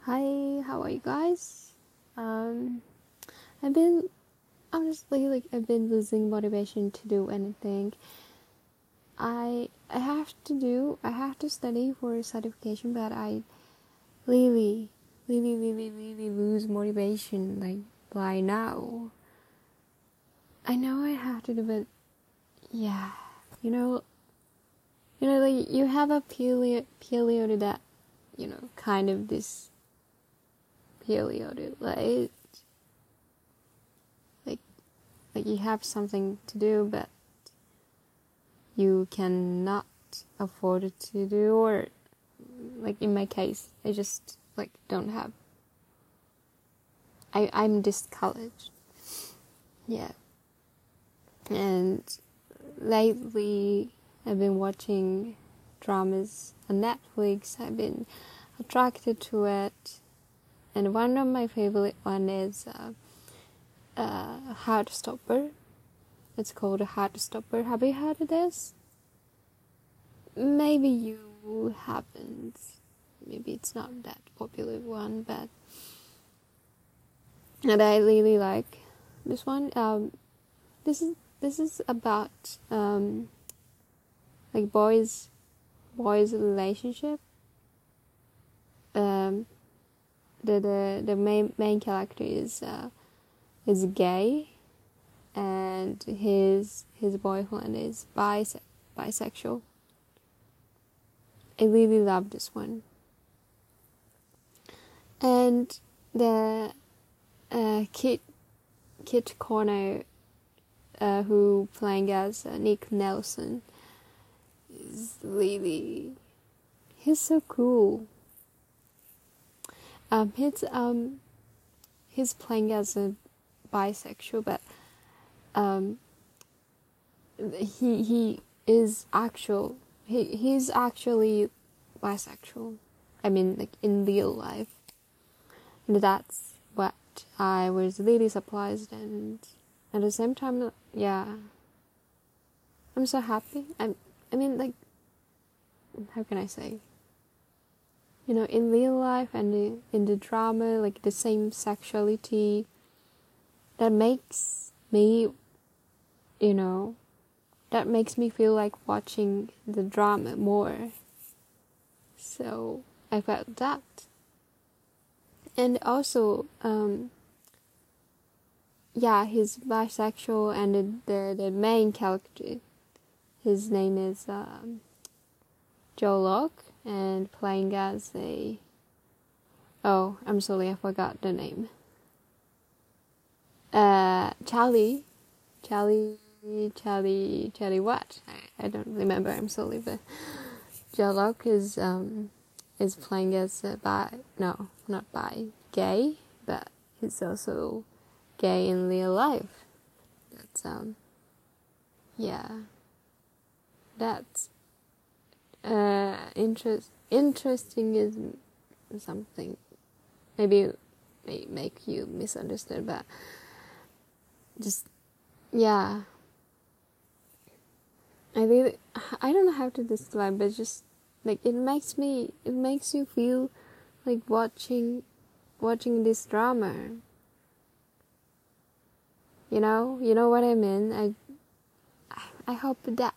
Hi, how are you guys? Um, I've been I've been losing motivation to do anything. I have to study for a certification, but I really lose motivation like by now. I know I have to do, but yeah, you know, like you have a period that kind of this period like like you have something to do but you cannot afford to do, or like in my case I just like don't have. I'm discouraged. Yeah. And lately I've been watching dramas on Netflix. I've been attracted to it, and one of my favorite one is Heartstopper. It's called Heartstopper. Have you heard of this? Maybe you haven't. Maybe it's not that popular one, but and I really like this one. This is about like boys relationship. The main character is gay, and his boyfriend is bisexual. I really love this one. And the Kit Connor, who playing as Nick Nelson, is really, he's so cool. He's playing as a bisexual, but he's actually bisexual. I mean, like in real life, and that's what I was really surprised, and at the same time, yeah, I'm so happy. I mean, like, how can I say? In real life and in the drama, like the same sexuality, that makes me, that makes me feel like watching the drama more. So I felt that. And also, he's bisexual, and the main character, his name is Joe Locke, and playing as I'm sorry, I forgot the name. Charlie what? I don't remember, I'm sorry, but Joe Locke is playing as gay, but he's also gay in real life. That's that's interesting is something maybe may make you misunderstood, but just I don't know how to describe, but just like it makes you feel like watching this drama. You know what I mean? I hope that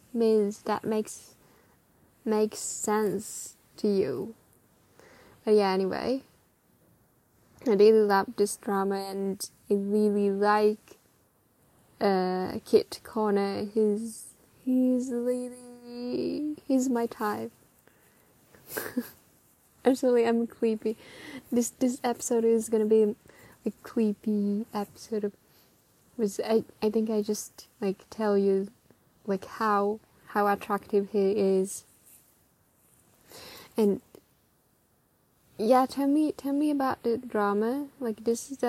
makes sense to you. But yeah, anyway, I really love this drama, and I really like Kit Connor. He's my type. Actually, I'm creepy. This episode is gonna be a creepy episode of. I think I just like tell you like how attractive he is. And yeah, tell me about the drama. Like this is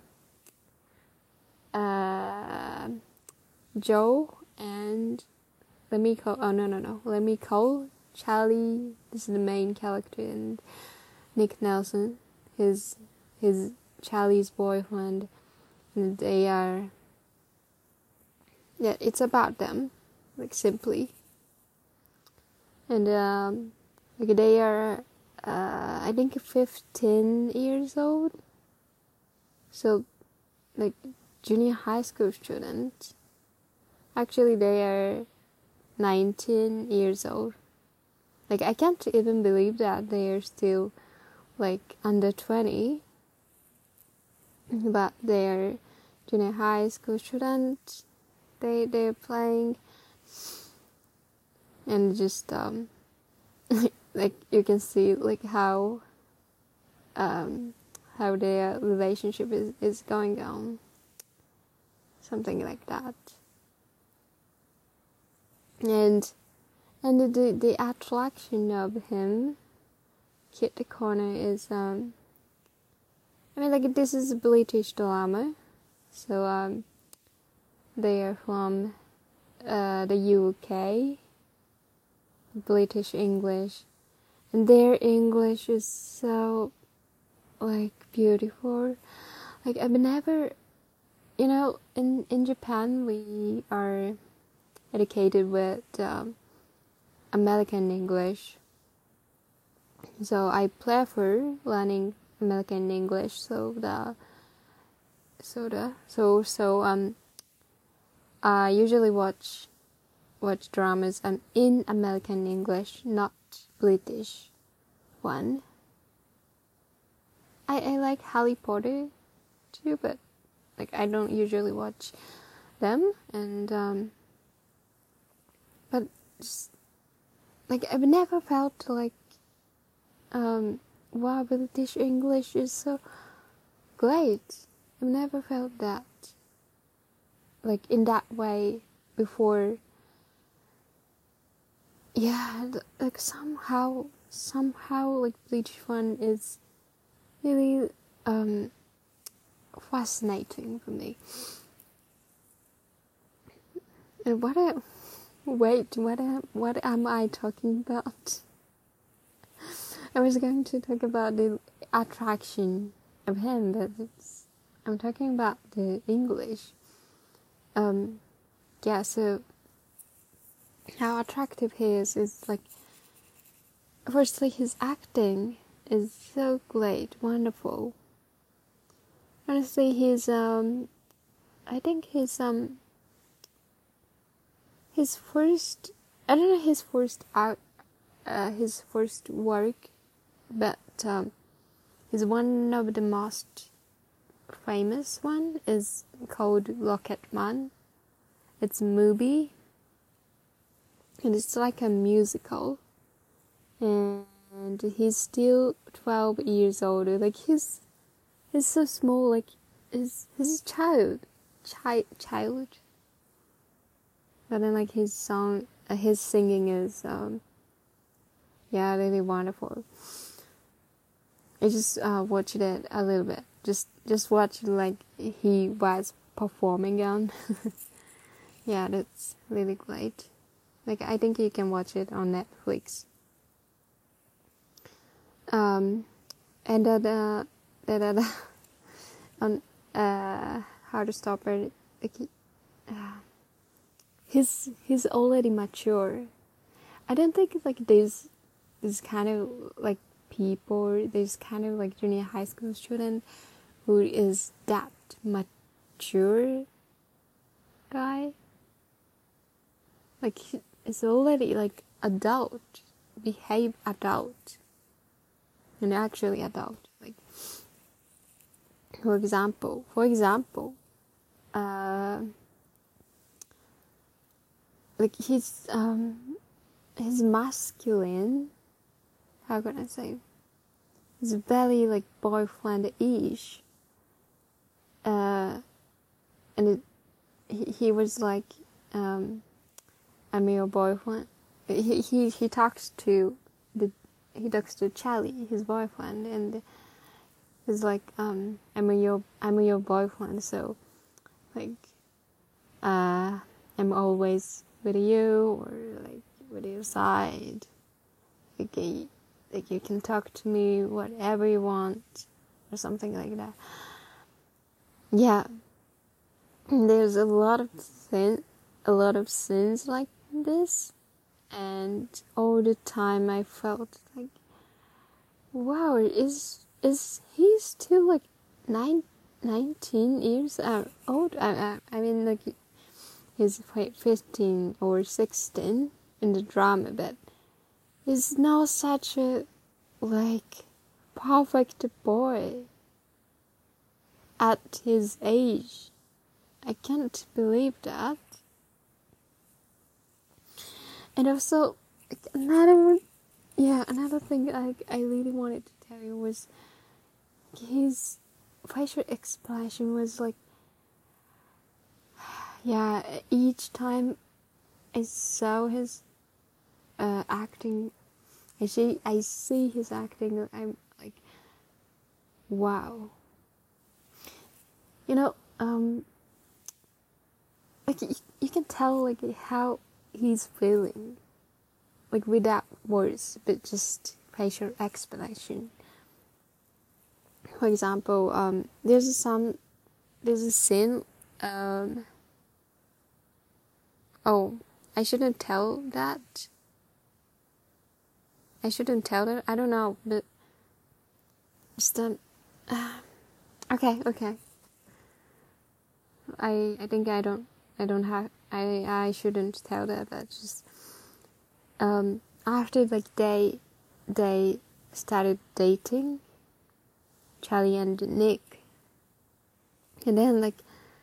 Joe and Lemmy Cole, Charlie. This is the main character, and Nick Nelson, his Charlie's boyfriend, and they are. Yeah, it's about them, like simply, and like they are I think 15 years old. So, like, junior high school students. Actually, they are 19 years old. Like, I can't even believe that they are still, like, under 20. But they're junior high school students. They're playing. And just, like, you can see, like, how their relationship is going on. Something like that. And the attraction of him, Kit the Corner, is I mean, like, this is a British drama, so they are from the UK, British English, and their English is so, like, beautiful. Like, I've never, in Japan we are educated with American English, so I prefer learning American English. I usually watch dramas in American English, not British one. I like Harry Potter too, but, like, I don't usually watch them, and but just, like, I've never felt like wow, British English is so great. I've never felt that, like, in that way before. Yeah, like, somehow, like, British one is really fascinating for me. And what am I talking about? I was going to talk about the attraction of him, but I'm talking about the English. Yeah, so how attractive he is like, firstly, his acting is so great, wonderful. Honestly, I think his first, I don't know his first work, but his one of the most famous one is called Rocketman. It's a movie, and it's like a musical, and he's still 12 years old. Like, he's so small, like, he's a child. But then, like, his singing is really wonderful. I just watched it a little bit. Just watch, like, he was performing on. Yeah, that's really great. Like, I think you can watch it on Netflix. And on How to Stop It, like, he's already mature. I don't think, like, this kind of, like, people, this kind of, like, junior high school student who is that mature guy. Like, he's already, like, adult, behave adult, and actually adult. Like, for example, like, he's masculine. How can I say? He's very, like, boyfriend-ish. And he was like, I'm your boyfriend. He talks to Charlie, his boyfriend, and he's like, I'm your boyfriend, so, like, I'm always with you, or, like, with your side. Like, you can talk to me whatever you want, or something like that. Yeah, there's a lot of scenes like this, and all the time I felt like wow, is he still like 19 years old? I mean, like, he's 15 or 16 in the drama, but he's now such a, like, perfect boy at his age. I can't believe that. And also, like, another thing I really wanted to tell you was his facial expression was like, yeah, each time I saw his acting, I see his acting, I'm like, wow. You know, like, you can tell, like, how he's feeling, like, without words, but just facial expression. For example, there's a scene, oh, I shouldn't tell that. I don't know, but just okay. I think I shouldn't tell that, but just after, like, they started dating, Charlie and Nick, and then, like,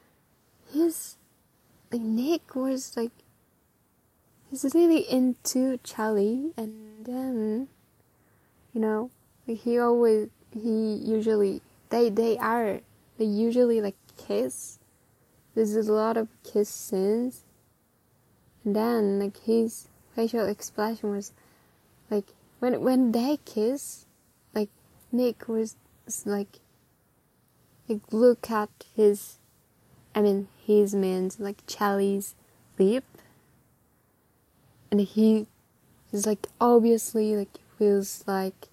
Nick was like, he's really into Charlie, and then, you know, like, they usually like kiss. There's a lot of kiss scenes, and then, like, his facial expression was like, when they kiss, like, Nick was like look at his man's, like, Charlie's lip, and he is like, obviously, like, feels like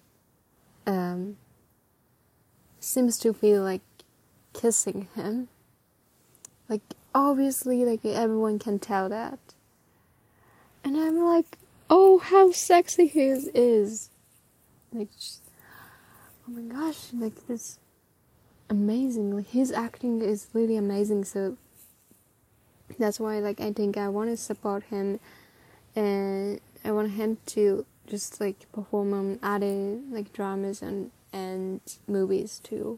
seems to feel like kissing him, like, obviously, like, everyone can tell that, and I'm like, oh, how sexy he is, like, just, oh my gosh, like, this amazing, like, his acting is really amazing, so that's why, like, I think I want to support him, and I want him to just, like, perform on other, like, dramas and movies too.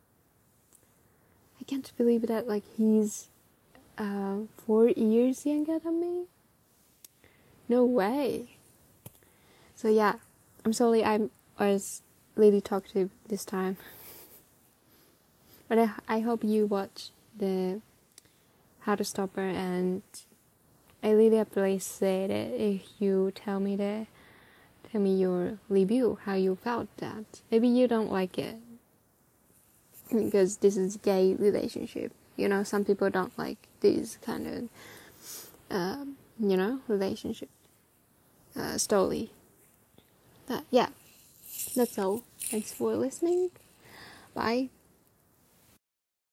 I can't believe that, like, he's 4 years younger than me. No way. So yeah, I'm sorry I was really talkative this time. But I hope you watch the How to Stop Her, and I really appreciate it if you tell me your review, how you felt that. Maybe you don't like it because this is a gay relationship. You know, some people don't like this kind of, relationship story. But yeah, that's all. Thanks for listening. Bye.